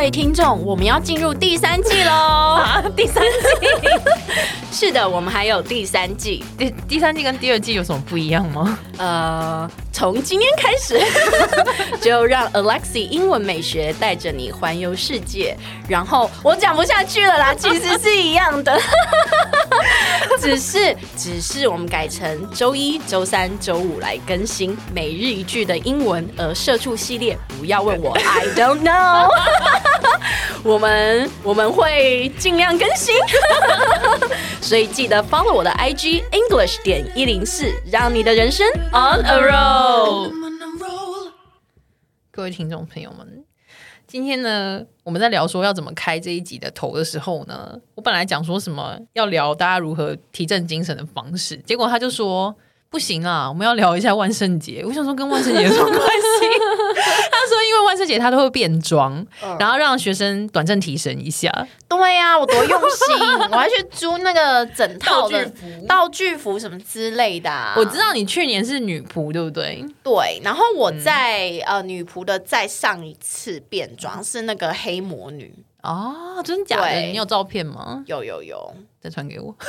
位聽眾，我們要進入第3季嘍！第3季，是的，我們還有第3季。 第3季跟第2季有什麼不一樣嗎？ 從今天開始，就讓 Alexi 英文美學帶着你環遊世界。然後我講不下去了啦，其實是一樣的，只是我們改成週1、週3、週5來更新每日一句的英文，而社畜系列不要問我 I don't know 我們會盡量更新所以記得 follow 我的 IG English.104，讓你的人生 on a roll。 各位聽眾朋友們，今天呢，我们在聊說要怎麼開這一集的頭的時候呢，我本來講說什麼要聊大家如何提振精神的方式，結果他就說不行啊，我們要聊一下萬聖節。我想說跟萬聖節有什麼關係？他說因為萬聖節他都會變裝，然後讓學生短暫提神一下。 對啊，我多用心，我還去租那個整套的道具服什麼之類的啊。 我知道你去年是女僕，對不對？ 對，然後我在女僕的再上一次變裝是那個黑魔女。 哦，真的假的？你有照片嗎？ 有， 再傳給我。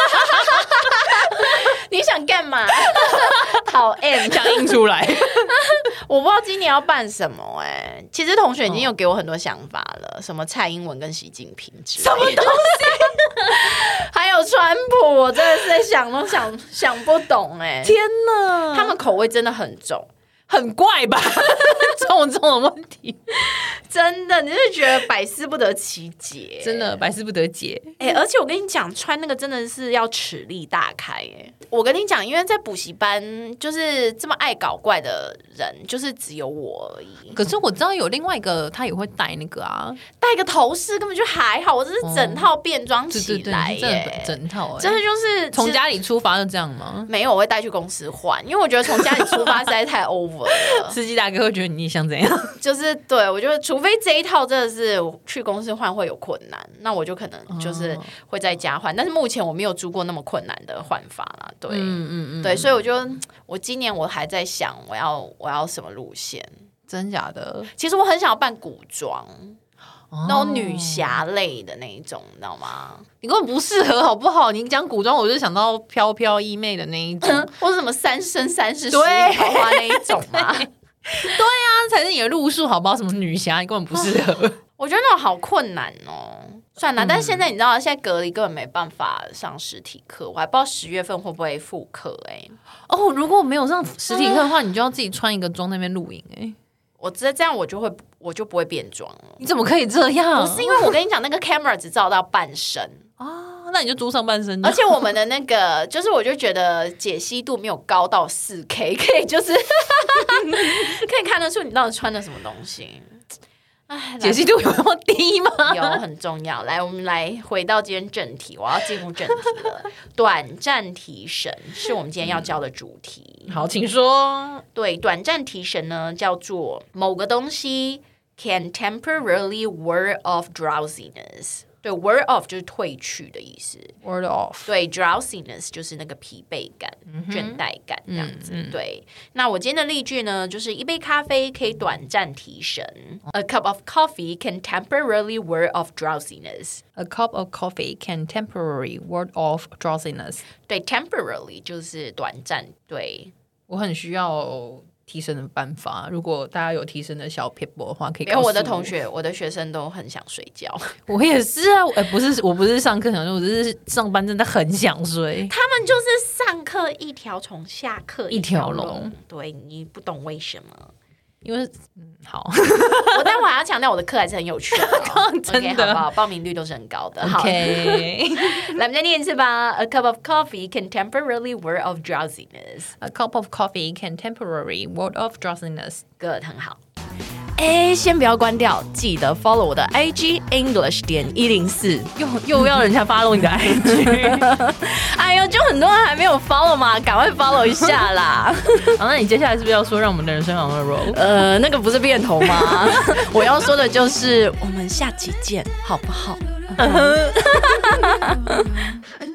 你想幹嘛？討 M 想印出來。 我不知道今年要辦什麼其實同學已經有給我很多想法了，什麼蔡英文跟習近平之類的，什麼東西？還有川普，我真的是在想都想不懂天哪，他們口味真的很重。 很怪吧？这种的問題， 真的，你是覺得百思不得其解， 真的百思不得解。 而且我跟你講，穿那個真的是要齒力大開我跟你講，因為在補習班，就是這麼愛搞怪的人，就是只有我而已。 可是我知道有另外一個，他也會戴那個啊， 戴個頭飾根本就還好。我這是整套變裝起來對整套真的就是從家裡出發就這樣嗎？ 沒有，我會帶去公司換，因為我覺得從家裡出發實在太 over。 司機大哥會覺得你想怎樣？ 就是對，我覺得除非這一套真的是去公司換會有困難，那我就可能就是會在家換。但是目前我沒有租過那麼困難的換法啦。對，對，所以我今年我還在想我要什麼路線？ 真假的？ 其實我很想要扮古裝。那種女俠類的那一種，你知道嗎？ 你根本不適合，好不好？你講古裝，我就想到飄飄衣妹的那一種， 或者什麼三生三世十里桃花那一種嘛。對啊，才是你的路數，好不好？什麼女俠，你根本不適合。 我覺得那種好困難哦。算了，但是現在你知道，現在隔離根本沒辦法上實體課，我還不知道10月份會不會復課如果沒有上實體課的話，你就要自己穿一個妝那邊錄影我這樣我就不會變裝了。 你怎麼可以這樣？ 不是因為我跟你講，那個 camera 只照到半身那你就租上半身。 而且我們的那個，就是我就覺得解析度沒有高到4K， 可以就是可以看得出你到底穿的什麼東西。 解析度有那麼低嗎？ 有，很重要。来，我們來回到今天正題，我要進入正題了。短暫提神是我們今天要教的主題。 好，請說。 對，短暫提神呢，叫做某個東西 can temporarily ward off drowsiness。對 ，ward off 就是褪去的意思。 ward off。對 ，drowsiness 就是那個疲惫感、倦怠感這樣子。對，那我今天的例句呢，就是一杯咖啡可以短暫提神。A cup of coffee can temporarily ward off drowsiness. A cup of coffee can temporarily ward off drowsiness. 對 ，temporarily 就是短暫。对， 我很需要提升的办法，如果大家有提升的小撇步的话，可以告訴我。 因为我的同学、我的学生都很想睡觉。 我也是啊，我不是上課想睡，我只是上班真的很想睡。 他們就是上課一条蟲，下課一條龍。對，你不懂為什麼？因為好，我待會還要強調我的課還是很有趣的、 真的 okay, 好不好？報名率都是很高的。OK， 來，我們再念一次吧。A cup of coffee can temporarily ward off drowsiness. A cup of coffee can temporarily ward off drowsiness. Good， 很好。先不要關掉，記得 follow 我的 IG English.104， 又要人家 follow 你的 IG。 哎呦，就很多人還沒有 follow 嘛，趕快 follow 一下啦。 好，那你接下來是不是要說讓我們的人生 on a roll？ 那個不是變頭嗎？我要說的就是我們下期見，好不好？